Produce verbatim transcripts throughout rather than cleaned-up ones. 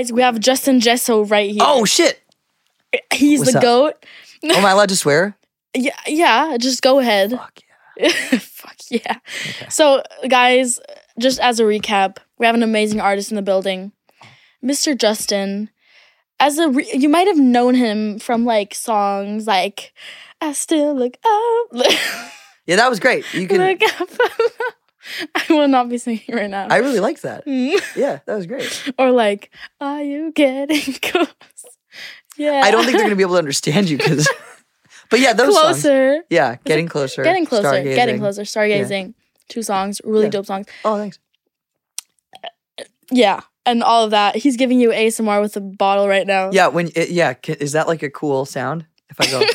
guys, we have Justin Jesso right here. Oh, shit. He's What's the up? GOAT. Oh, am I allowed to swear? Yeah, yeah, just go ahead. Fuck yeah. Fuck yeah. Okay. So, guys, just as a recap, we have an amazing artist in the building, Mister Justin. As a re- you might have known him from like songs like "I Still Look Up." Yeah, that was great. You can. Look up. I will not be singing right now. I really liked that. Mm. Yeah, that was great. Or like, "Are you getting close?" Yeah. I don't think they're gonna be able to understand you because. But yeah, those songs. closer. Yeah, getting closer. Getting closer. Stargazing. Getting closer. Stargazing. Two songs. Really Yeah. dope songs. Oh, thanks. Yeah. And all of that. He's giving you A S M R with a bottle right now. Yeah, when it, yeah, ca- is that like a cool sound? If I go,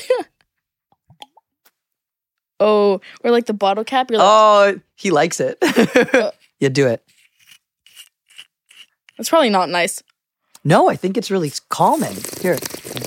Oh, or like the bottle cap. You're like, oh, he likes it. Yeah, do it. it's probably not nice. No, I think it's really calming. Here.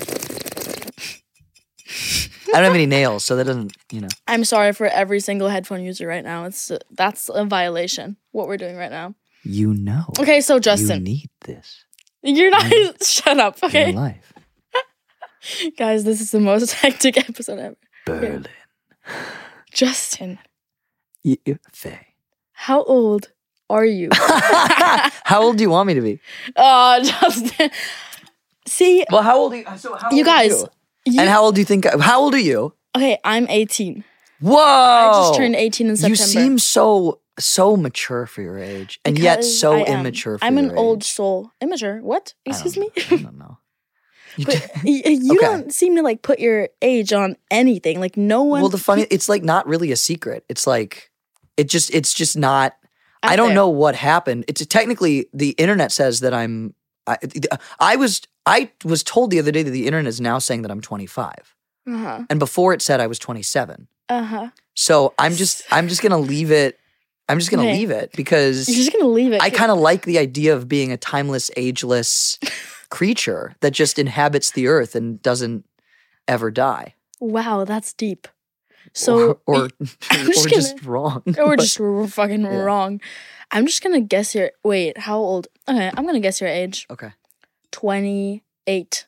I don't have any nails, so that doesn't, you know. I'm sorry for every single headphone user right now. It's uh, that's a violation. What we're doing right now. You know. Okay, so You Justin, need this you're not. Shut up. in Okay, your life. guys, this is the most hectic episode ever. Berlin. Justin, Y- y- Faye. how old are you? How old do you want me to be? Oh, Justin. See, Well, how old are you? So how you old are guys. you? You, And how old do you think? How old are you? okay, I'm eighteen. Whoa! I just turned eighteen in September. You seem so so mature for your age, and yet Because so I am. immature for I'm your an old age. soul. Immature? What? I Excuse don't me? know. I don't know. You But d- y- you Okay. don't seem to like put your age on anything. Like no one. well, the funny, it's like not really a secret. It's like it just, it's just not. out I don't there. know what happened. It's technically the internet says that I'm. I, I was I was told the other day that the internet is now saying that I'm twenty-five, Uh huh. and before it said I was twenty-seven. Uh huh. So I'm just I'm just gonna leave it. I'm just gonna Okay. leave it because You're just gonna leave it. I kind of like the idea of being a timeless, ageless creature that just inhabits the earth and doesn't ever die. Wow, that's deep. So or or, I'm or just just, gonna- wrong. or But- just r- fucking Yeah. wrong. I'm just gonna guess your. Wait, how old? Okay, I'm gonna guess your age. okay. Twenty-eight.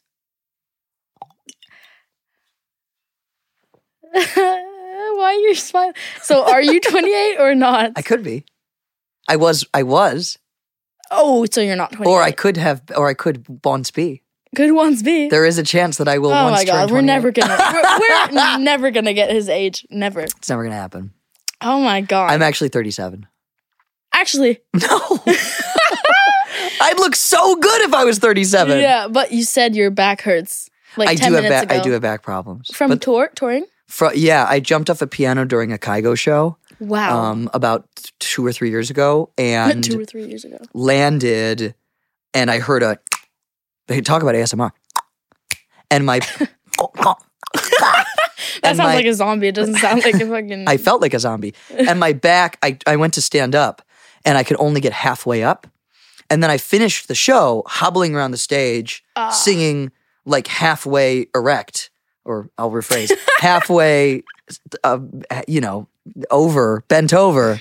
Why are you smiling? So, are you twenty-eight or not? I could be. I was. I was. Oh, so you're not twenty-eight. Or I could have. Or I could once be. Could once be. There is a chance that I will oh once my god, turn we're twenty-eight. never gonna. We're, we're never gonna get his age. Never. It's never gonna happen. Oh my god. I'm actually thirty-seven. Actually. No. I'd look so good if I was thirty-seven. Yeah, but you said your back hurts. Like I ten do have minutes back. ago. I do have back problems. From But tour touring. fro- yeah, I jumped off a piano during a Kygo show. Wow. Um, about two or three years ago, and Two or three years ago. landed, and I heard a. They talk about A S M R, and my. That and sounds my- like a zombie. It doesn't sound like a fucking. I felt like a zombie, and my back. I I went to stand up, and I could only get halfway up, and then I finished the show hobbling around the stage, Ah. singing like halfway erect, or I'll rephrase, halfway, uh, you know, over, bent over.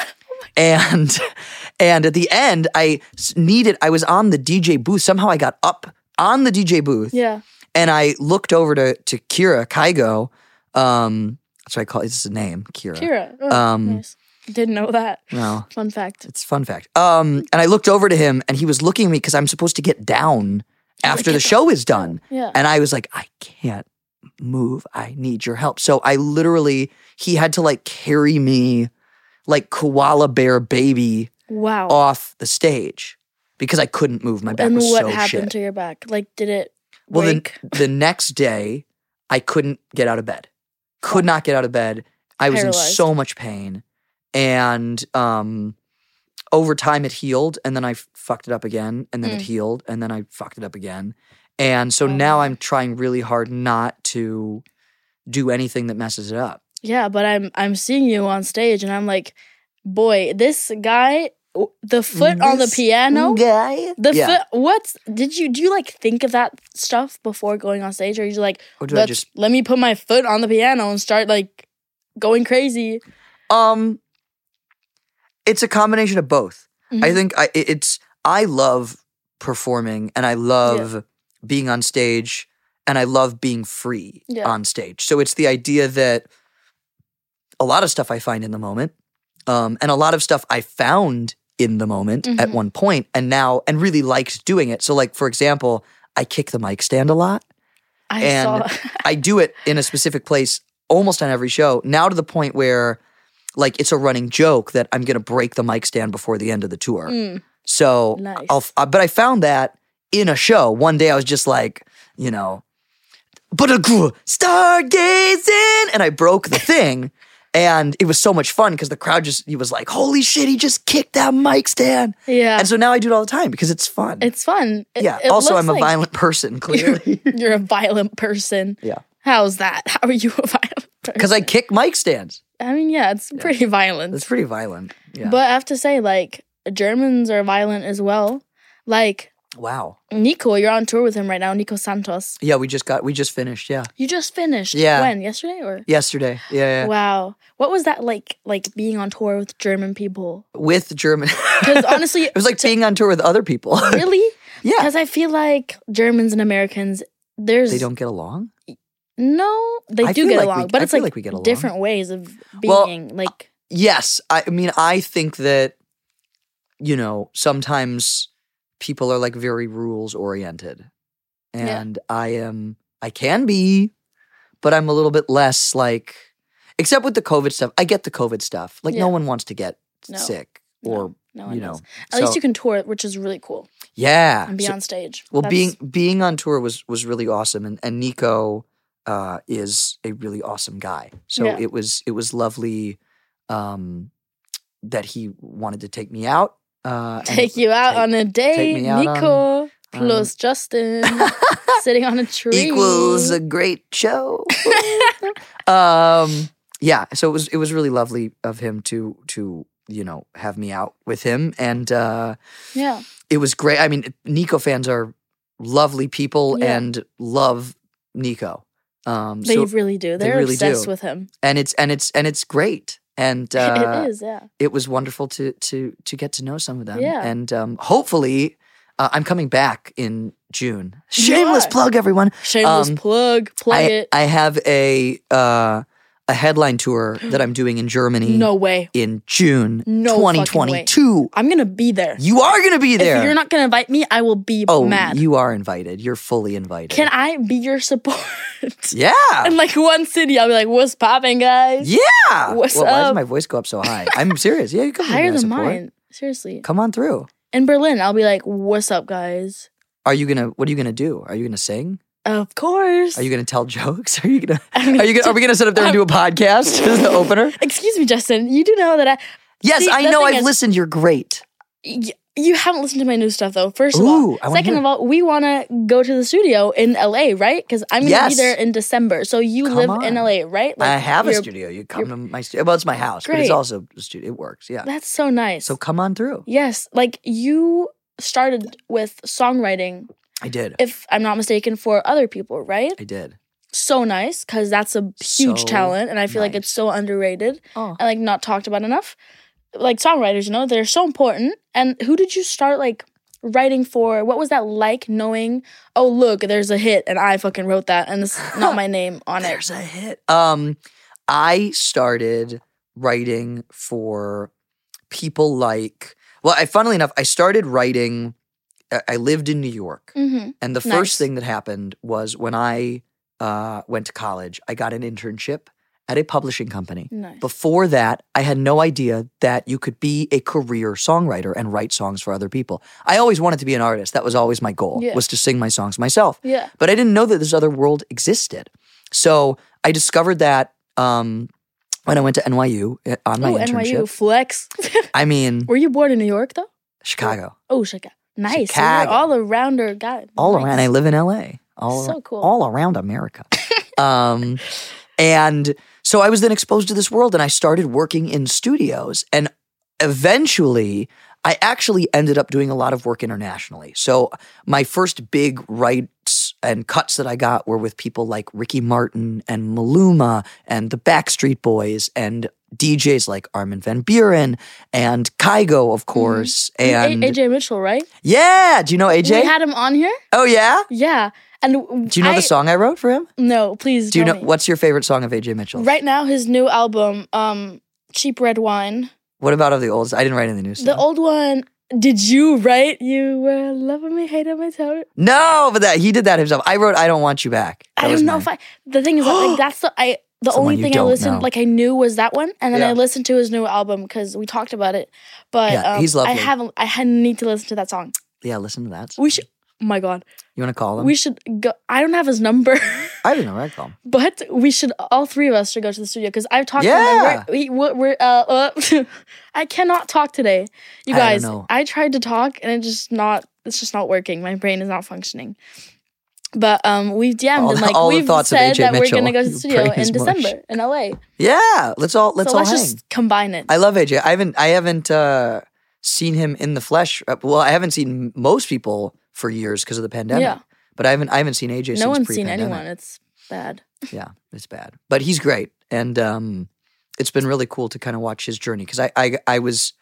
And and at the end, I s- needed, I was on the D J booth. Somehow I got up on the D J booth Yeah. and I looked over to, to Kira Kygo. Um, that's what I call it. This is a name, Kira. Kira. Oh, Um, nice. Didn't know that. No, Fun fact. it's a fun fact. Um, and I looked over to him and he was looking at me because I'm supposed to get down after get the show is done. Yeah. And I was like, I can't move. I need your help. So I literally, he had to like carry me like koala bear baby Wow. off the stage because I couldn't move. My back and was what so happened shit. to your back? Like, did it Well, then break? the next day, I couldn't get out of bed. Could not get out of bed. I was in Paralyzed. so much pain. And um, over time, it healed. And then I f- fucked it up again. And then it Mm. healed. And then I fucked it up again. And so Oh. now I'm trying really hard not to do anything that messes it up. Yeah, but I'm I'm seeing you on stage, and I'm like, boy, this guy, the foot on the This piano, guy. the yeah. foot. What's did you do? You like think of that stuff before going on stage, or you like, Or do I let's just let me put my foot on the piano and start like going crazy? um? It's a combination of both. I Mhm. think I it- it's I love performing and I love yeah. being on stage and I love being free yeah. on stage. So it's the idea that a lot of stuff I find in the moment um, and a lot of stuff I found in the moment mm-hmm. at one point and now and really liked doing it. So like, for example, I kick the mic stand a lot. I and saw. I do it in a specific place almost on every show, now to the point where like it's a running joke that I'm going to break the mic stand before the end of the tour. Mm. So, nice. I'll, uh, but I found that in a show. One day I was just like, you know, but a stargazing, and I broke the thing. And it was so much fun because the crowd just, he was like, holy shit, he just kicked that mic stand. Yeah. And so now I do it all the time because it's fun. It's fun. It, yeah. It also, I'm a like violent person, clearly. You're, you're a violent person. Yeah. How's that? How are you a violent person? Because I kick mic stands. I mean, yeah, it's yeah. pretty violent. It's pretty violent. Yeah. But I have to say, like, Germans are violent as well. Like, wow. Nico, you're on tour with him right now, Nico Santos. Yeah, we just got, we just finished, yeah. You just finished? Yeah. When? Yesterday or? Yesterday, yeah, yeah. Wow. What was that like, like being on tour with German people? With German. Because honestly. It was like being on tour with other people. Really? Yeah. Because I feel like Germans and Americans, there's. They don't get along? No, they I do feel get like along. we- but I it's feel like, like we get along. different ways of Well, being. like. Yes. I mean, I think that, you know, sometimes people are like very rules oriented. And yeah. I am, I can be, but I'm a little bit less like, except with the COVID stuff. I get the COVID stuff. Like Yeah. no one wants to get No. sick No. or, No one you know. does. At so- least you can tour, which is really cool. Yeah. And be So- on stage. Well, That's- being being on tour was was really awesome, and and Nico uh, is a really awesome guy. So Yeah. it was it was lovely um, that he wanted to take me out. Uh, and Take you out take- on a date, me out Nico on- plus Justin sitting on a tree. equals a great show. um, yeah, so it was it was really lovely of him to to you know have me out with him, and uh, Yeah. it was great. I mean, Nico fans are lovely people Yeah. and love Nico. Um, They so really do. they They're really obsessed do. with him. and it's and it's and it's great. And uh, it is, yeah. it was wonderful to to to get to know some of them. Yeah. And um, hopefully, uh, I'm coming back in June. Shameless are. plug, everyone. Shameless Um, plug. Plug I, it. I have a uh, a headline tour that I'm doing in Germany No way. in June No twenty fucking way. twenty-two. I'm going to be there. You are going to be there. If you're not going to invite me, I will be oh, mad. you are invited. You're fully invited. Can I be your support? Yeah. In like one city, I'll be like, what's popping, guys? Yeah. What's well, Why up? does my voice go up so high? I'm serious. Yeah, you come Higher than support. mine. Seriously. Come on through. In Berlin, I'll be like, what's up, guys? Are you gonna? What are you gonna do? Are you gonna sing? Of course. Are you gonna tell jokes? Are you gonna? I'm gonna Are you? Gonna, are we gonna sit up there and do a podcast as the opener? Excuse me, Justin. You do know that I. Yes, See, I the know. thing I've is- listened. You're great. Y- you haven't listened to my new stuff, though. First of Ooh, all. I wanna Second hear of all, we want to go to the studio in L A, right? Because I'm going to Yes. be there in December. So you Come live on. in L A, right? I have a you're- studio. You come to my studio. Well, it's my house, but it's Great. also a studio. It works. Yeah. That's so nice. So come on through. Yes. Like you started with songwriting, I did. if I'm not mistaken, for other people, right? I did. So nice, because that's a huge So talent, and I feel like nice. it's so underrated Oh. and like not talked about enough. Like songwriters, you know, they're so important. And who did you start like writing for? What was that like, knowing, oh look, there's a hit and I fucking wrote that and it's not my name on it. There's a hit. Um, I started writing for people like. Well, I funnily enough, I started writing. I- I lived in New York, Mm-hmm. and the Nice. first thing that happened was when I uh, went to college, I got an internship at a publishing company. Nice. Before that, I had no idea that you could be a career songwriter and write songs for other people. I always wanted to be an artist. That was always my goal, Yeah. was to sing my songs myself. Yeah. But I didn't know that this other world existed. So I discovered that um, when I went to N Y U uh, on my Oh, internship. N Y U flex. I mean, Were you born in New York though? Chicago. Oh, Chicago. Nice. So Chicago. you're all arounder guy. All Nice. around. I live in L A. All So ar- cool. All around America. um, and so I was then exposed to this world, and I started working in studios. And eventually, I actually ended up doing a lot of work internationally. So my first big writes and cuts that I got were with people like Ricky Martin and Maluma and the Backstreet Boys and D Js like Armin van Buuren and Kygo, of course. And And A J Mitchell, right? yeah, do you know A J? We had him on here. Oh yeah? Yeah, and Do you know I, the song I wrote for him? No, please. Do you know tell me. what's your favorite song of A J Mitchell? Right now, his new album, um, "Cheap Red Wine." What about of the old? I didn't write any of the new stuff. The old one. Did you write? You were loving me, hating me, tell No, but that he did that himself. I wrote "I Don't Want You Back." That I was don't know mine. if I. The thing is, that, like, that's the I. The Someone only you thing I don't listened, know. like I knew, was that one, and then Yeah. I listened to his new album because we talked about it. But Yeah, um, he's lovely. I haven't. I had need to listen to that song. Yeah, listen to that. We should. Oh my god, You want to call him? we should go. I don't have his number, I don't know. I'd call him. but we should. All three of us should go to the studio because I've talked. Yeah. to him. We're, we, we're uh, uh I cannot talk today, you I don't guys. know. I tried to talk and it just not. It's just not working. My brain is not functioning. But um, we've D M'd All and the- like all the we've thoughts of said A J that Mitchell. we're gonna go to the Your studio brain is in mush. December in L A. Yeah, let's all let's so all let's hang. just combine it. I love A J. I haven't I haven't uh, seen him in the flesh. Uh, Well, I haven't seen most people for years because of the pandemic. Yeah. But I haven't I haven't seen A J since No one's seen pre-pandemic. anyone. It's bad. Yeah, it's bad. But he's great. And um, it's been really cool to kind of watch his journey because I, I I was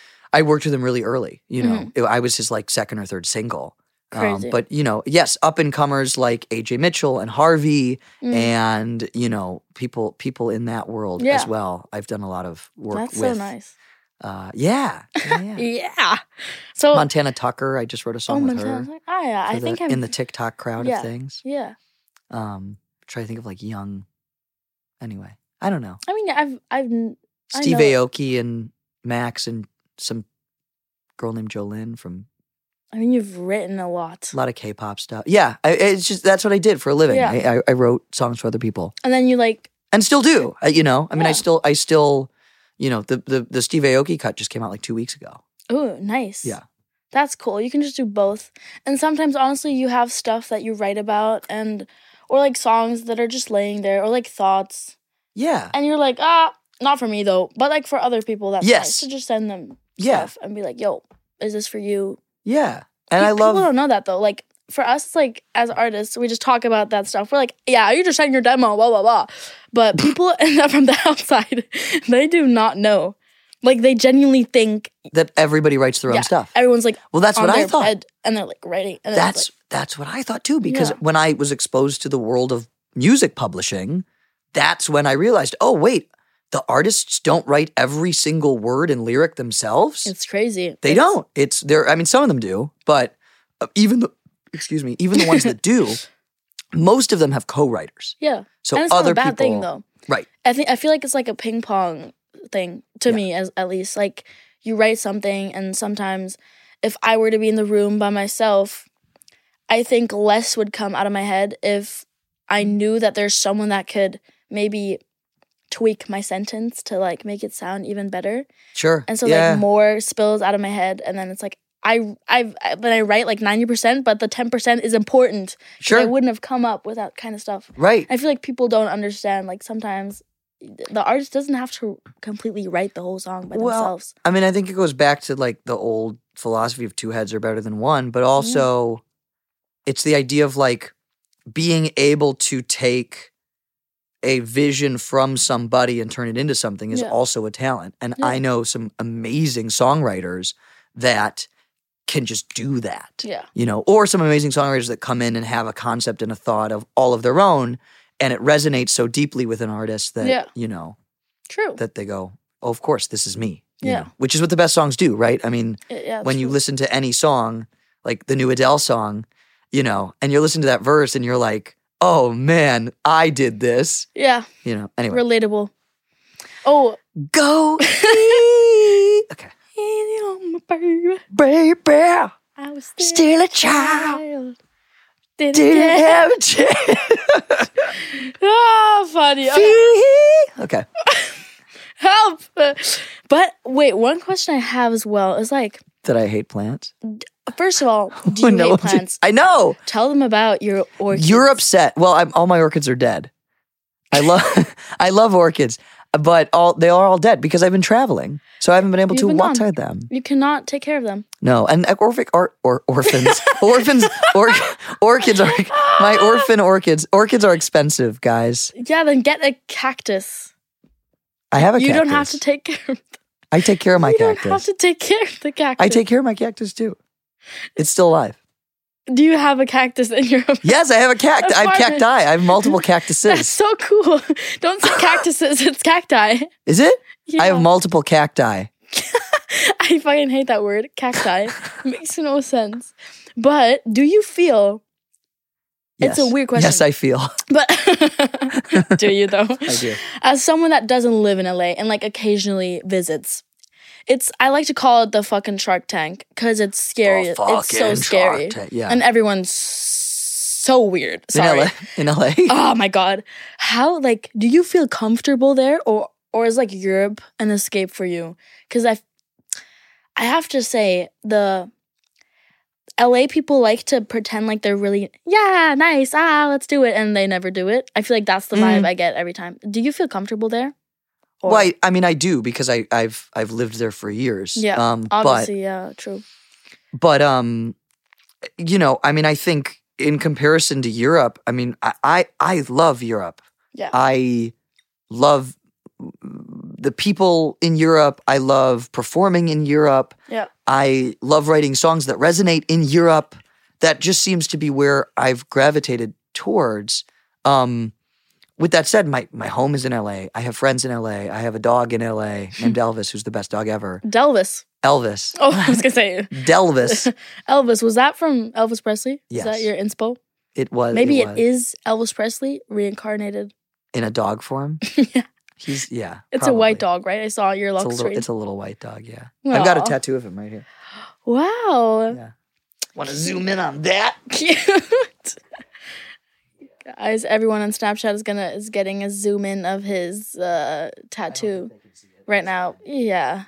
I worked with him really early. You know, It- I was his like second or third single. Um, Crazy. but you know, yes, up and comers like A J Mitchell and Harvey Mm. and you know people people in that world Yeah. as well. I've done a lot of work That's with. so nice. Uh, yeah, yeah, yeah. Yeah. So Montana Tucker. I just wrote a oh, song with Montana's her. like, oh yeah, for I the- think I'm in the TikTok crowd yeah. of things. yeah. Um, try to think of like young. Anyway, I don't know. I mean, I've I've n- I Steve know- Aoki and Max and some girl named Jolene from I mean, you've written a lot, a lot of K-pop stuff. Yeah, I, it's just that's what I did for a living. Yeah. I, I, I wrote songs for other people and then you like and still do. I, you know, I mean, I Yeah. still, I still, you know, the the the Steve Aoki cut just came out like two weeks ago. oh nice. Yeah. That's cool. You can just do both. And sometimes honestly you have stuff that you write about and or like songs that are just laying there or like thoughts. Yeah, And you're like, ah, not for me though. But like for other people that's Yes. nice to just send them yeah, stuff and be like, yo, is this for you? yeah. And Pe- I love. people don't know that though. Like for us, like as artists, we just talk about that stuff. We're like, yeah, you just sent your demo, blah blah blah. But people from the outside, they do not know. Like they genuinely think that everybody writes their yeah, own stuff. everyone's like Well, that's on what I their thought. bed and they're like writing. And then it's That's that's what I thought too. Because Yeah. when I was exposed to the world of music publishing, that's when I realized, oh wait, the artists don't write every single word and lyric themselves. like, it's crazy. they It's- don't. It's there. I mean, some of them do, but uh, even the excuse me, even the ones that do, most of them have co-writers. Yeah. So and it's other not a bad people, thing though. right? I think I feel like it's like a ping pong thing to Yeah. me as at least. Like you write something and sometimes if I were to be in the room by myself, I think less would come out of my head if I knew that there's someone that could maybe tweak my sentence to like make it sound even better. Sure. And so yeah. like more spills out of my head and then it's like I I've I, when I write like ninety percent but the ten percent is important. 'Cause Sure. I wouldn't have come up with that kind of stuff. right. I feel like people don't understand. Like sometimes the artist doesn't have to completely write the whole song by Well, themselves. I mean, I think it goes back to like the old philosophy of two heads are better than one, but also it's the idea of like being able to take a vision from somebody and turn it into something is Yeah. also a talent. And Yeah. I know some amazing songwriters that can just do that. Yeah. You know, or some amazing songwriters that come in and have a concept and a thought of all of their own and it resonates so deeply with an artist that, Yeah. you know, True. that they go, oh, of course, this is me. you Yeah. know, which is what the best songs do, right? I mean, Yeah, when you true. listen to any song, like the new Adele song, you know, and you're listening to that verse and you're like, oh man, I did this. Yeah. You know, anyway. Relatable. Oh. Go eat. Okay. Baby. Baby, I was still a child. Didn't, Didn't get- have a chance. Ah, funny. Okay. Okay. Help. But wait, one question I have as well is like, That I hate plants. first of all, do you No, hate plants? I know. Tell them about your orchids. You're upset. Well, I'm, all my orchids are dead. I love I love orchids, but all they are all dead because I've been traveling, so I haven't been able You've to been water gone. them. You cannot take care of them. No, and uh, orphic or, or orphans, orphans, or, orchids are my orphan orchids. Orchids are expensive, guys. Yeah, then get a cactus. I have a you cactus. don't have to take care of the, I take care of my you cactus. don't have to take care of the cactus. I take care of my cactus too. It's still alive. Do you have a cactus in your apartment? Yes, I have a cactus. I have Apartment. cacti. I have multiple That's cactuses. so cool. Don't say cactuses, it's cacti. Is it? Yeah. I have multiple cacti. I fucking hate that word, cacti. Makes no sense. But do you feel, Yes. it's a weird question. Yes, I feel. But do you though? I do. As someone that doesn't live in L A and like occasionally visits, it's I like to call it the fucking Shark Tank because it's scary. Oh, It's so fucking scary, Shark Tank, yeah. and everyone's so weird. Sorry. In L A. In L A. Oh my god, how like do you feel comfortable there, or or is like Europe an escape for you? Because I, I have to say the L A people like to pretend like they're really, yeah, nice, ah, let's do it. And they never do it. I feel like that's the vibe Mm. I get every time. Do you feel comfortable there? Or- Well, I, I mean, I do because I, I've I've lived there for years. Yeah, Um, obviously, yeah, true. but but um, you know, I mean, I think in comparison to Europe, I mean, I I, I love Europe. Yeah. I love the people in Europe. I love performing in Europe. Yeah. I love writing songs that resonate in Europe. That just seems to be where I've gravitated towards. Um, with that said, my, my home is in L A. I have friends in L A. I have a dog in L A named Elvis, who's the best dog ever. Delvis. Elvis. Oh, I was going to say. Delvis. Elvis. Was that from Elvis Presley? Yes. Is that your inspo? It was. Maybe it, it was. is Elvis Presley reincarnated. In a dog form. Yeah. He's, yeah. It's a white probably. dog, right? I saw your It's a, lock little, screen. it's a little white dog, yeah. I've got a Aw. tattoo of him right here. Wow. Yeah. Want to zoom in on that? Cute. Guys, everyone on Snapchat is gonna is getting a zoom in of his uh, tattoo right now. Yeah.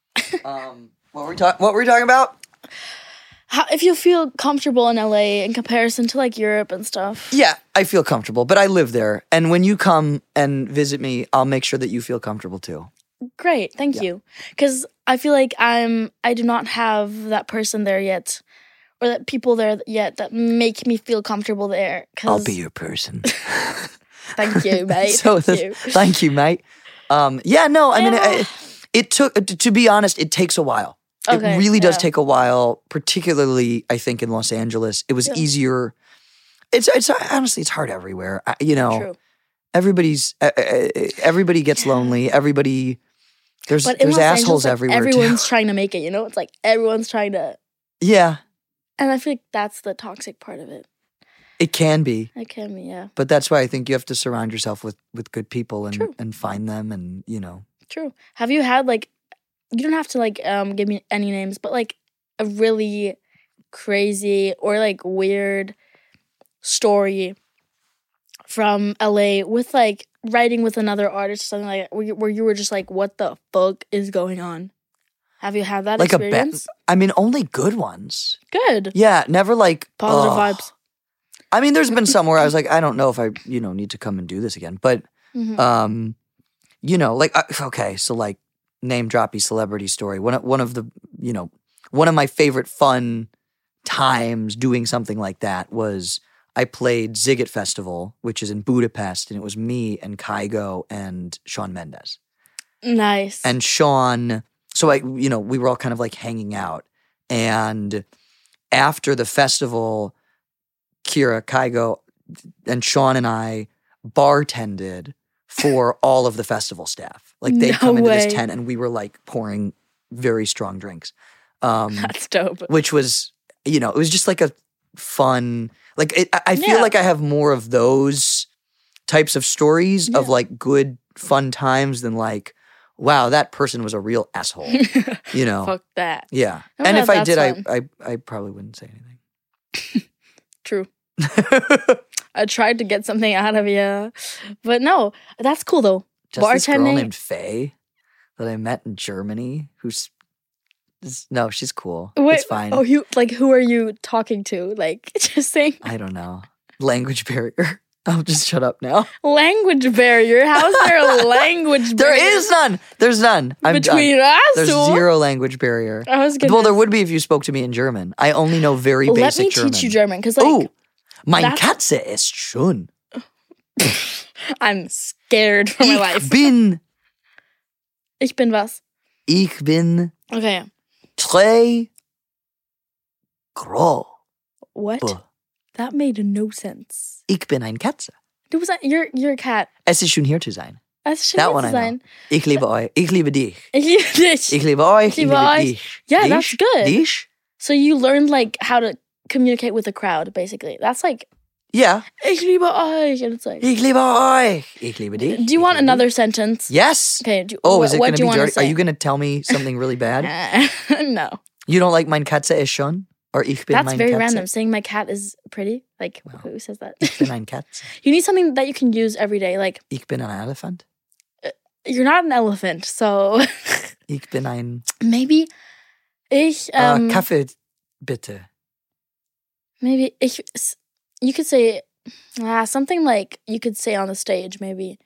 Um, what were we talking? What were we talking about? How, if you feel comfortable in L A in comparison to like Europe and stuff. Yeah, I feel comfortable, but I live there, and when you come and visit me, I'll make sure that you feel comfortable too. Great, thank Yeah. you. Because I feel like I'm I do not have that person there yet, or that people there yet that make me feel comfortable there. 'Cause- I'll be your person. Thank you, mate. so thank this- you. thank you, mate. Um, yeah, no, I mean, Yeah. it, it took. To be honest, it takes a while. Okay, it really does yeah. take a while, particularly I think in Los Angeles. It was Yeah. easier. It's it's honestly it's hard everywhere. I, you know, True. everybody's uh, uh, everybody gets lonely. Everybody there's But in there's Los assholes Angeles, like, everywhere everyone's too. trying to make it. You know, it's like everyone's trying to, Yeah, and I feel like that's the toxic part of it. it can be, It can be, yeah. but that's why I think you have to surround yourself with with good people and True. and find them, and you know. True. Have you had like you don't have to like um give me any names, but like a really crazy or like weird story from L A with like writing with another artist or something like that, where you, where you were just like, what the fuck is going on? Have you had that Like a ba- experience? I mean, only good ones. Good. Yeah, never like Positive ugh. vibes. I mean, there's been some where I was like, I don't know if I, you know, need to come and do this again. But, Mhm. um, you know, like, uh, okay, so like name droppy celebrity story. One of, one of the, you know, one of my favorite fun times doing something like that was I played Ziget Festival, which is in Budapest, and it was me and Kygo and Shawn Mendes. Nice. And Sean, so I, you know, we were all kind of like hanging out. And after the festival, Kira, Kygo, and Sean and I bartended for all of the festival staff. Like they'd No come into way. this tent and we were like pouring very strong drinks. Um, That's dope. which was, you know, it was just like a fun, like it, I- I feel Yeah. like I have more of those types of stories of Yeah. like good, fun times than like, wow, that person was a real asshole, you know? Fuck that. Yeah. Oh, and yeah, if I that's did, I, fun. I I probably wouldn't say anything. True. I tried to get something out of you, but no, that's cool though. Just this girl Bartending- named Faye that I met in Germany who's, is- no, she's cool. Wait, it's fine. Oh, you like who are you talking to? Like just saying I don't know. Language barrier. I'll just shut up now. language barrier. How is there a language There barrier? is none. There's none. I'm between done. us. There's two? zero language barrier. I was gonna Well, there would be if you spoke to me in German. I only know very let basic me German. teach you German because like Oh, mein that's- Katze ist schön. I'm scared for my Ich life. bin Ich bin was? Ich bin Okay. très groß. What? That made no sense. Ich bin ein Katze. Du bist ein, you're, you're a cat. Es ist schön, hier zu sein. Es ist schön, That hier one zu I know. sein. Ich liebe euch. Ich liebe dich. Ich liebe dich. Ich liebe euch. Ich liebe euch. dich. Yeah, dich, that's good. Dich. So you learned like how to communicate with the crowd, basically. That's like, Ja. ich liebe euch. And it's like, Ich liebe euch. Ich liebe dich. do you Ich want liebe another dich. sentence? Yes. Okay. Do, Oh, what, is it what going do to you be want to dirty? say? Are you going to tell me something really bad? No. You don't like mein Katze ist schon? Or ich bin That's mein very Katze? random. Saying my cat is pretty. Like, who says that? Ich bin ein Katze. You need something that you can use every day. Like, Ich bin ein Elefant. you're not an elephant, so Ich bin ein maybe ich uh, um Kaffee, bitte. maybe ich you could say ah, something like you could say on the stage maybe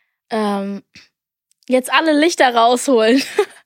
um jetzt alle Lichter rausholen.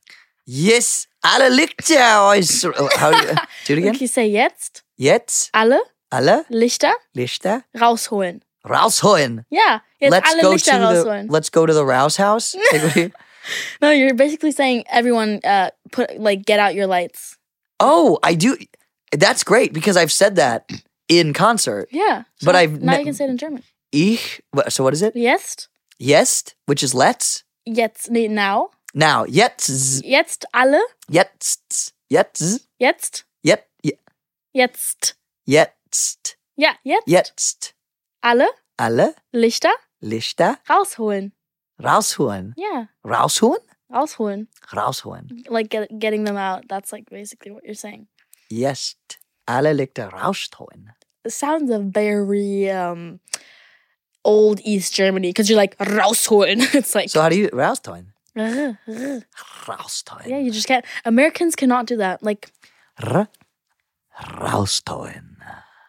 Yes, alle Lichter aus. How do you, do it again? Okay, say jetzt Jetzt alle alle Lichter Lichter rausholen. rausholen. Yeah, jetzt Let's alle go Lichter to the rausholen. let's go to the Rouse House. Like, what do you- No, you're basically saying everyone uh put like get out your lights. oh, I do. That's great because I've said that in concert. Yeah. So But I've now ne- you can say it in German. Ich. what- So what is it? Jetzt Jetzt, which is let's. jetzt nee, now. Now, jetzt, Jetzt alle jetzt, jetzt, jetzt jetzt, je- jetzt jetzt, ja, jetzt jetzt. alle Alle Lichter Lichter rausholen. rausholen. Yeah, Rausholen? rausholen. Rausholen. Like get, getting them out. That's like basically what you're saying. Jetzt. Alle Lichter rausholen. It sounds a very um old East Germany because you're like rausholen. It's like So how do you rausholen? "Ugh, ugh." Rausholen. yeah, you just can't. Americans cannot do that. Like R rausholen.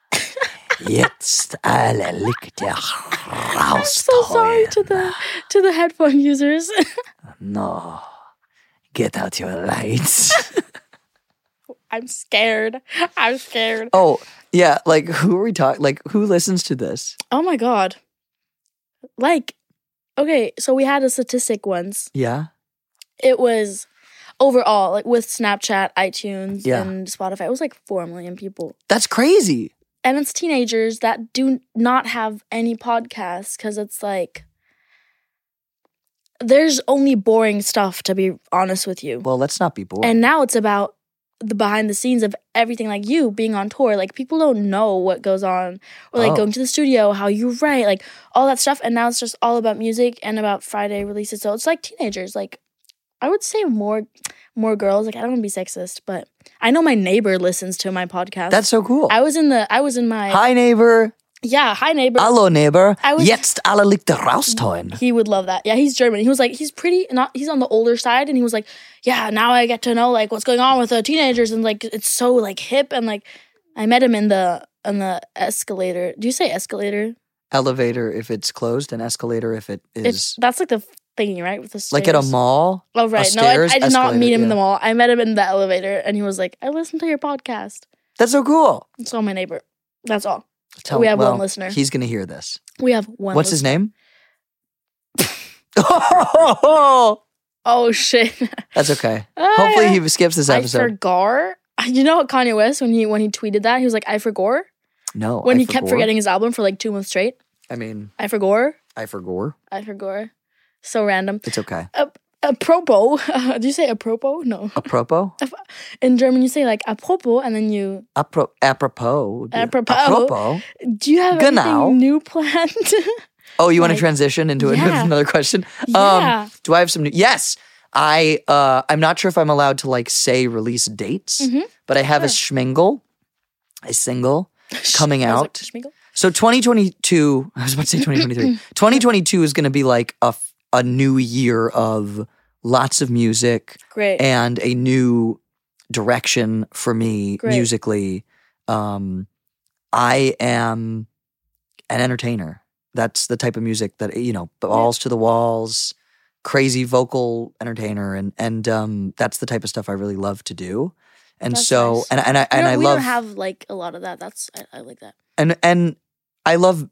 Jetzt alle Lichter rausholen. so sorry to the to the headphone users. No. Get out your lights. I'm scared. I'm scared. Oh, yeah, like who are we talking? Like who listens to this? Oh my god. Like, okay, so we had a statistic once. Yeah. It was overall, like with Snapchat, iTunes, Yeah. and Spotify, it was like four million people. That's crazy. And it's teenagers that do not have any podcasts because it's like, there's only boring stuff, to be honest with you. Well, let's not be bored. And now it's about the behind the scenes of everything, like you being on tour. Like people don't know what goes on, or like Oh. going to the studio, how you write, like all that stuff. And now it's just all about music and about Friday releases. So it's like teenagers. Like I would say more, more girls. Like I don't want to be sexist, but I know my neighbor listens to my podcast. That's so cool. I was in the. I was in my. Hi, neighbor. Yeah, hi neighbor. Hallo, neighbor. I was- Jetzt alle Lichter rausholen. He would love that. Yeah, he's German. He was like, he's pretty, not, he's on the older side. And he was like, yeah, now I get to know like what's going on with the teenagers. And like, it's so like hip. And like, I met him in the, on the escalator. Do you say escalator? Elevator if it's closed, and escalator if it is. It's, that's like the thingy, right? With the stairs. Like at a mall. Oh, right. a No, I, stairs I did not escalator, meet him in the yeah. mall. I met him in the elevator. And he was like, I listened to your podcast. That's so cool. It's all my neighbor. That's all. Tell, We have one well, listener. He's going to hear this. We have one. What's his listener. name? Oh, Oh, shit. that's okay. Ah, Hopefully yeah. he skips this I episode. forgot. You know what Kanye West, when he when he tweeted that, he was like, I forgot. No. When I he kept forgore. forgetting his album for like two months straight. I mean, I forgot. I forgore. I forgot. So random. It's okay. A, apropos. Uh, do you say apropos? No. Apropos? In German, you say like apropos, and then you. Apro- apropos. Apropos. Apropos. Do you have Genau. anything new planned? Oh, you want Like, to transition into yeah. another question? Yeah. Um, do I have some new? Yes. I uh, I'm not sure if I'm allowed to like say release dates, Mhm. but I have a Sure. schmingle, a single coming I was like, out. Schmiegel? So twenty twenty-two, I was about to say twenty twenty-three. twenty twenty-two is going to be like a, f- a new year of lots of music Great. and a new direction for me Great. musically. Um, I am an entertainer. That's the type of music that, you know, balls to the walls, crazy vocal entertainer. And, and um, that's the type of stuff I really love to do. And That's so, nice. and, and I, We and don't- I we love, don't have like a lot of that. That's I, I like that. and, and I love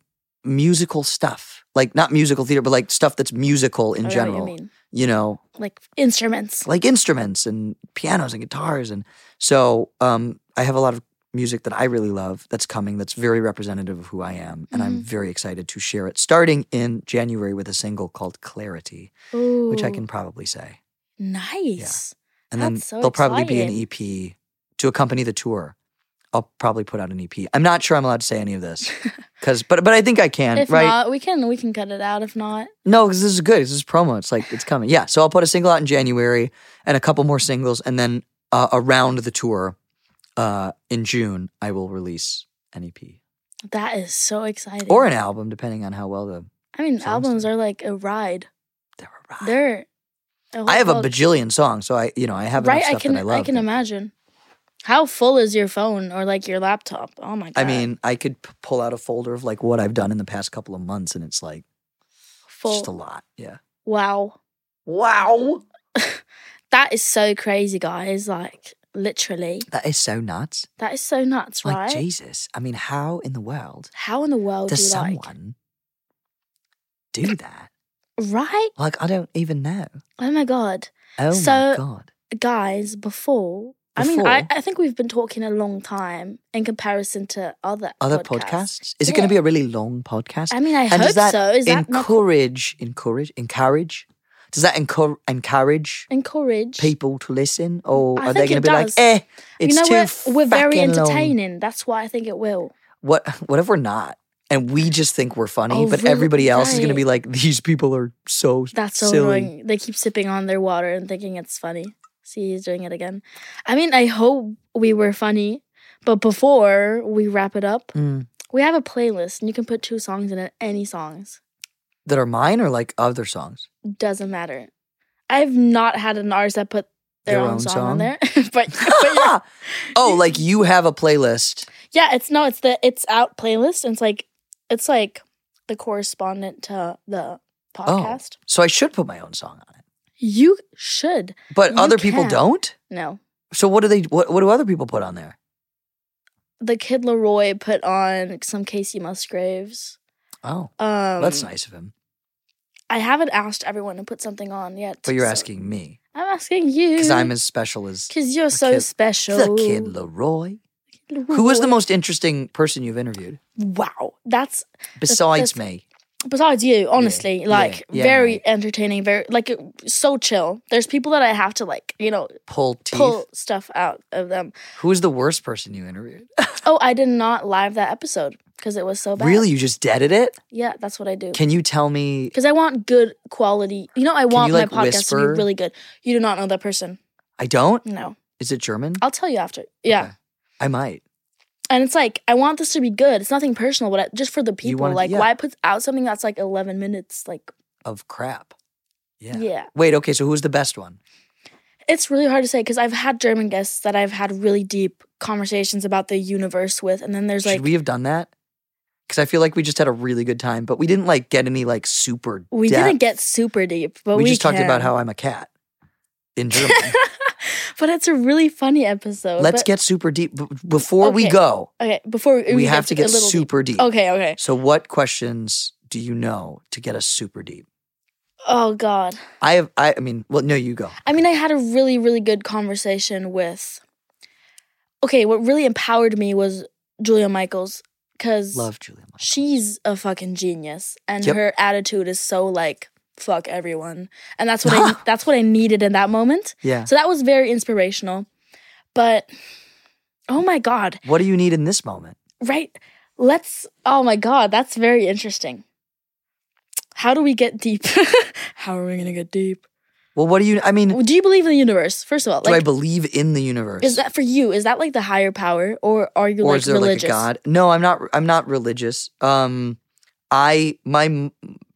musical stuff. Like not musical theater, but like stuff that's musical in I know what general. you mean. You know, Like instruments. like instruments and pianos and guitars. And so um, I have a lot of music that I really love that's coming that's very representative of who I am. And I'm Mhm. very excited to share it starting in January with a single called Clarity, Ooh, which I can probably say. nice. And then That's so there'll probably be an exciting. E P to accompany the tour. I'll probably put out an E P. I'm not sure I'm allowed to say any of this. Cause, but but I think I can, If right? not, we can we can cut it out. If not, No, because this is good. This is promo. It's like, it's coming. Yeah, so I'll put a single out in January and a couple more singles. And then uh, around the tour uh, in June, I will release an E P. that is so exciting. Or an album, depending on how well the... I mean, songs albums do. are like a ride. They're a ride. They're. a whole I have a world. bajillion songs, so I, you know, I have enough right. I stuff can that I love. I can but- imagine. How full is your phone or like your laptop? Oh my god! I mean, I could p- pull out a folder of like what I've done in the past couple of months, and it's like full. just a lot. Yeah. Wow, Wow. that is so crazy, guys. Like literally, That is so nuts. that is so nuts, Like, right? Jesus. I mean, how in the world How in the world does do you like? someone do that? Right? Like, I don't even know. Oh my god, Oh So- my God. guys! Before, I mean, I, Before? I think we've been talking a long time in comparison to other Other podcasts. podcasts? Is it going to be a really long podcast? I mean, I and hope does that so. Is that not encourage, encourage, encourage? Does that encourage, encourage encourage people to listen? Or I are they think going to it be like, does. eh, it's you know, too we're, we're very fucking long. entertaining. That's why I think it will. What, what if we're not? And we just think we're funny, Oh, but really? everybody else is going to Right. be like, these people are so That's so silly. annoying. They keep sipping on their water and thinking it's funny. See, he's doing it again. I mean, I hope we were funny, but before we wrap it up, Mm. we have a playlist and you can put two songs in it, any songs. That are mine or like other songs? Doesn't matter. I've not had an artist that put their, Their own, own song, song? on there. but, but yeah. Oh, like you have a playlist. yeah, it's no, it's the It's Out playlist. And it's like, it's like the correspondent to the podcast. So I should put my own song on it. You should. But You other people can. don't? No. So what do they what, what do other people put on there? The Kid Leroy put on some Casey Musgraves. Oh, Um, that's nice of him. I haven't asked everyone to put something on yet. But you're so- asking me I'm asking you. because I'm as special as Because you're so Kid- special. the Kid Leroy. Who was the most interesting person you've interviewed Wow. That's besides that's- me? besides you, honestly. yeah, like yeah, very right. entertaining, very like so chill. There's people that I have to like, you know, Pull teeth. pull stuff out of them. Who was the worst person you interviewed? Oh, I did not live that episode because it was so bad. Really, you just deaded it? Yeah, that's what I do. Can you tell me? Because I want good quality. You know, I want you, like, my podcast to whisper? be really good. You do not know that person. I don't. No. Is it German? I'll tell you after. Yeah. Okay. I might. And it's like, I want this to be good. It's nothing personal, but I, just for the people. wanna- like, yeah. why put out something that's like eleven minutes? Like, Of crap. Yeah. yeah. Wait. Okay. So who's the best one? It's really hard to say because I've had German guests that I've had really deep conversations about the universe with. And then there's Should like, we, we have done that? Because I feel like we just had a really good time, but we didn't like get any like super. depth. didn't get super deep, but We, we, just talked about can. how I'm a cat in German. But it's a really funny episode. Let's But- get super deep. B- before we Okay. go, Okay, before we, we, have to a get little super deep. deep. Okay, okay. So, what questions do you know to get us super deep? Oh, God. I have. I, I mean, well, no, you go. I mean, I had a really, really good conversation with. Okay, what really empowered me was Julia Michaels because Love Julia. Michaels. she's a fucking genius, and Yep. her attitude is so like fuck everyone, and that's what I that's what I needed in that moment. Yeah. So that was very inspirational. But oh my god, What do you need in this moment? right? Let's. Oh my god, that's very interesting. How do we get deep? How are we gonna get deep? Well, what do you? I mean, Do you believe in the universe? First of all, do I like, believe in the universe? is that for you? Is that like the higher power, or are you or like is there religious? like a god? No, I'm not. I'm not religious. Um, I my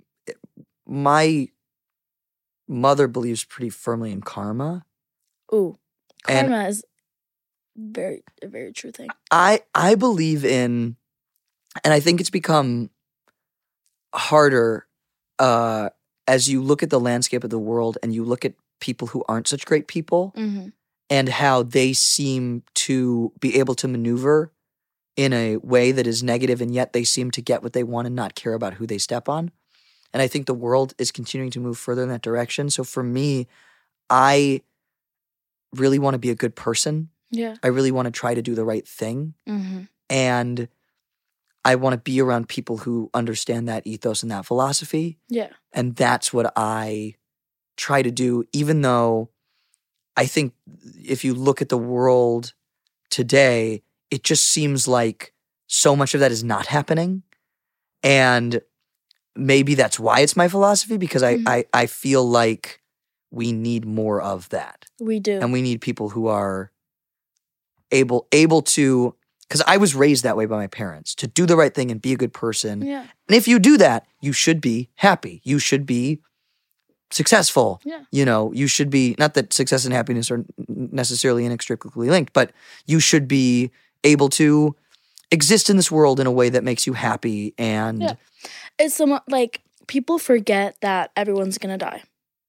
my mother believes pretty firmly in karma. Ooh, And- karma is very a very true thing. I I believe in, and I think it's become harder uh, as you look at the landscape of the world and you look at people who aren't such great people Mm-hmm. and how they seem to be able to maneuver in a way that is negative, and yet they seem to get what they want and not care about who they step on. And I think the world is continuing to move further in that direction. So for me, I really want to be a good person. Yeah. I really want to try to do the right thing. Mm-hmm. And I want to be around people who understand that ethos and that philosophy. Yeah. And that's what I try to do, even though I think if you look at the world today, it just seems like so much of that is not happening. And maybe that's why it's my philosophy, because I, Mhm. I, I feel like we need more of that. We do. And we need people who are able able to, because I was raised that way by my parents, to do the right thing and be a good person. Yeah. And if you do that, you should be happy. You should be successful. Yeah. You know, you should be, not that success and happiness are necessarily inextricably linked, but you should be able to exist in this world in a way that makes you happy. And Yeah. It's somewhat like people forget that everyone's gonna die.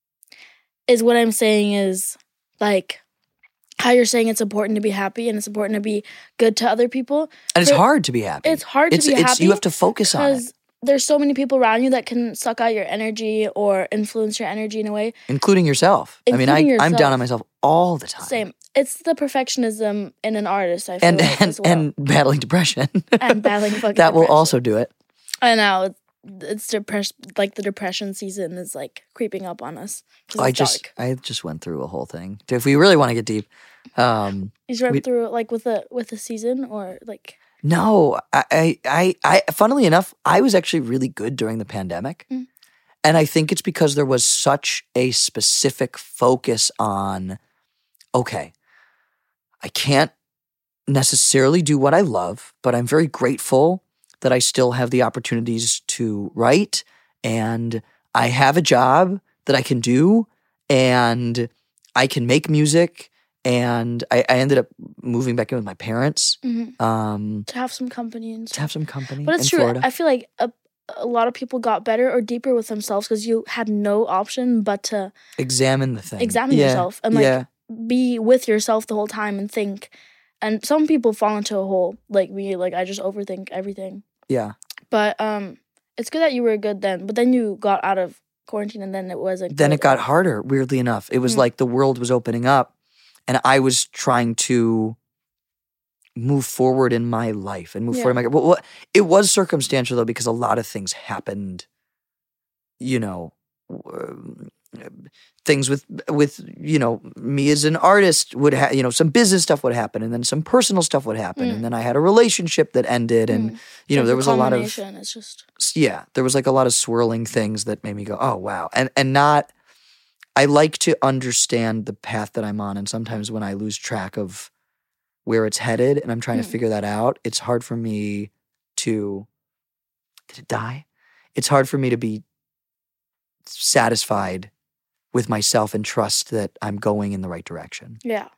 Is what I'm saying is like how you're saying it's important to be happy and it's important to be good to other people. and it's For- hard to be happy. It's hard to it's, be it's, happy You have to focus on it, because there's so many people around you that can suck out your energy or influence your energy in a way. including yourself. I mean, I, Including I'm down yourself. on myself all the time. Same. It's the perfectionism in an artist, I feel And, like, and, as well. and battling depression. And battling fucking that will depression. also do it. I know. It's, it's depression. Like the depression season is like creeping up on us. 'cause I it's just dark. I just went through a whole thing. If we really want to get deep, um, You just went we- through it like with a with a season or like no, I, I, I, I, funnily enough, I was actually really good during the pandemic. Mm. And I think it's because there was such a specific focus on, okay, I can't necessarily do what I love, but I'm very grateful that I still have the opportunities to write, and I have a job that I can do, and I can make music. And I, I ended up moving back in with my parents mhm, um, to have some company and to stuff. have some company But it's in true. Florida. I feel like a, a lot of people got better or deeper with themselves because you had no option but to Examine the thing. examine Yeah, yourself and like yeah, be with yourself the whole time and think. And some people fall into a hole like me. Like I just overthink everything. yeah. But um, it's good that you were good then. But then you got out of quarantine and then it wasn't. Then good. it got harder, weirdly enough. It was Mm. like the world was opening up and I was trying to move forward in my life and move Yeah. forward in my well, what it was circumstantial though, because a lot of things happened, you know, um, things with with you know me as an artist would have, you know, some business stuff would happen and then some personal stuff would happen Mm. and then I had a relationship that ended and Mm. you know Like there the was a lot of culmination, It's just yeah, there was like a lot of swirling things that made me go, oh wow. And and not I like to understand the path that I'm on. And sometimes when I lose track of where it's headed and I'm trying to Mm. figure that out, it's hard for me to did it die? It's hard for me to be satisfied with myself and trust that I'm going in the right direction. yeah.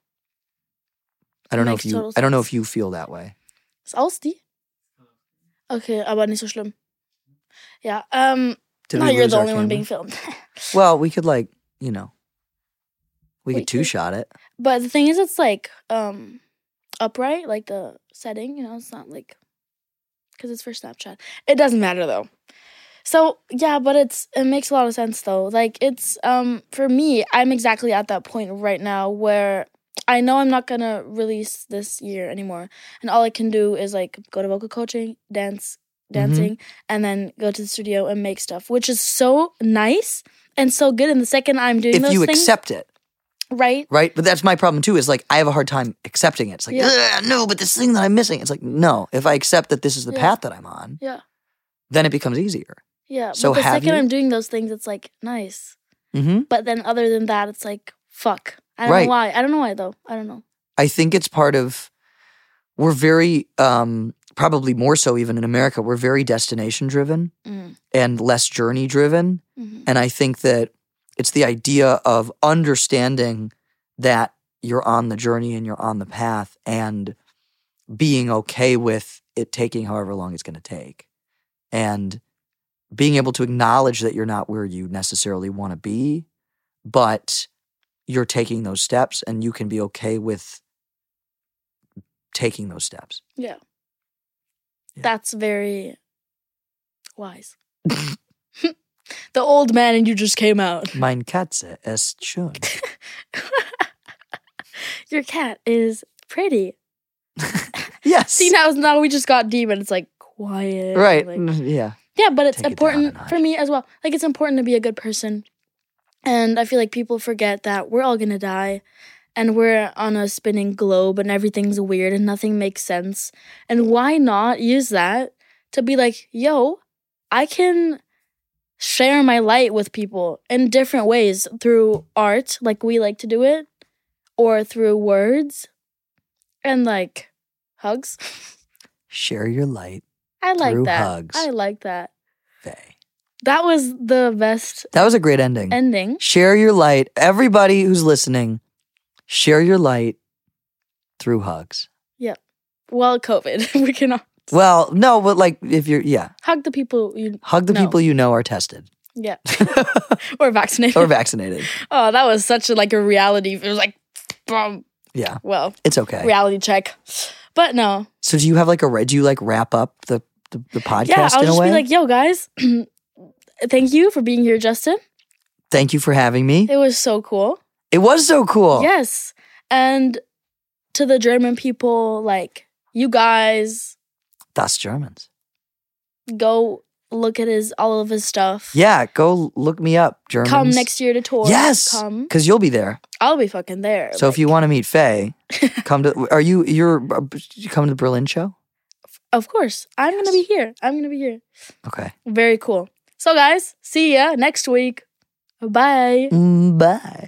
I don't know Makes if you total I don't know sense. if you feel that way. Ist aus die? Okay, aber nicht so schlimm. Ja, um, Did no, we you're lose the our only one camera? being filmed. Well, we could like, you know, we We could two could. shot it. But the thing is, it's like um upright, like the setting. You know, it's not like because it's for Snapchat. It doesn't matter though. So yeah, but it's it makes a lot of sense though. Like it's um for me, I'm exactly at that point right now where I know I'm not gonna release this year anymore, and all I can do is like go to vocal coaching, dance, dancing, and then go to the studio and make stuff, which is so nice and so good. And the second I'm doing If those you things, accept it. right? Right? But that's my problem too, is like I have a hard time accepting it. It's like, Yeah. "Ugh, no, but this thing that I'm missing. It's like, no, if I accept that this is the Yeah. path that I'm on, Yeah. then it becomes easier. Yeah, So but the have second you? I'm doing those things, it's like nice. Mm-hmm. But then other than that, it's like fuck. I don't Right. know why. I don't know why though. I don't know. I think it's part of, we're very, um, probably more so even in America, we're very destination driven Mm. and less journey driven. Mhm. And I think that it's the idea of understanding that you're on the journey and you're on the path and being okay with it taking however long it's going to take. And being able to acknowledge that you're not where you necessarily want to be, but you're taking those steps and you can be okay with taking those steps. Yeah. Yeah. That's very wise. The old man and you just came out. Mein Katze ist schön. Your cat is pretty. Yes. See, now, now we just got deep and it's like quiet. Right. Like, yeah. yeah, but it's Take it down a important notch. for me as well. Like, it's important to be a good person. And I feel like people forget that we're all going to die. And we're on a spinning globe and everything's weird and nothing makes sense. And why not use that to be like, yo, I can share my light with people in different ways through art, like we like to do it, or through words and like hugs. Share your light, I like Through that. hugs. I like that. Faye. That was the best That was a great ending. ending. Share your light. Everybody who's listening, share your light through hugs. Well, COVID, we cannot Well, no, but like if you're, yeah, hug the people you hug the No. people you know are tested yeah or vaccinated. or vaccinated. Oh, that was such a like a reality. It was like, boom. Yeah, Well, it's okay. reality check. But no, So do you have like a, ra- do you like wrap up the, the, the podcast yeah, I'll in a just way? be like, yo, guys, thank you for being here, Justin. Thank you for having me. It was so cool. It was so cool. Yes, and to the German people, like you guys, Das Germans. go look at his all of his stuff. Yeah, go look me up, Germans. Come next year to tour. Yes, Come. because you'll be there. I'll be fucking there. So if you want to meet Faye, come to. Are you? You're you come to the Berlin show? Of course. I'm Yes. gonna be here. I'm gonna be here. Okay. Very cool. So guys, see ya next week. Bye. Mm, bye.